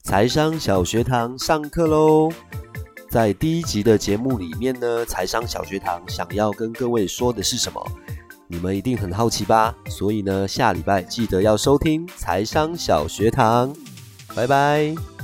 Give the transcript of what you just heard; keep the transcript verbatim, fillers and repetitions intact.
财商小学堂上课喽！在第一集的节目里面呢，财商小学堂想要跟各位说的是什么？你们一定很好奇吧？所以呢，下礼拜记得要收听财商小学堂。拜拜。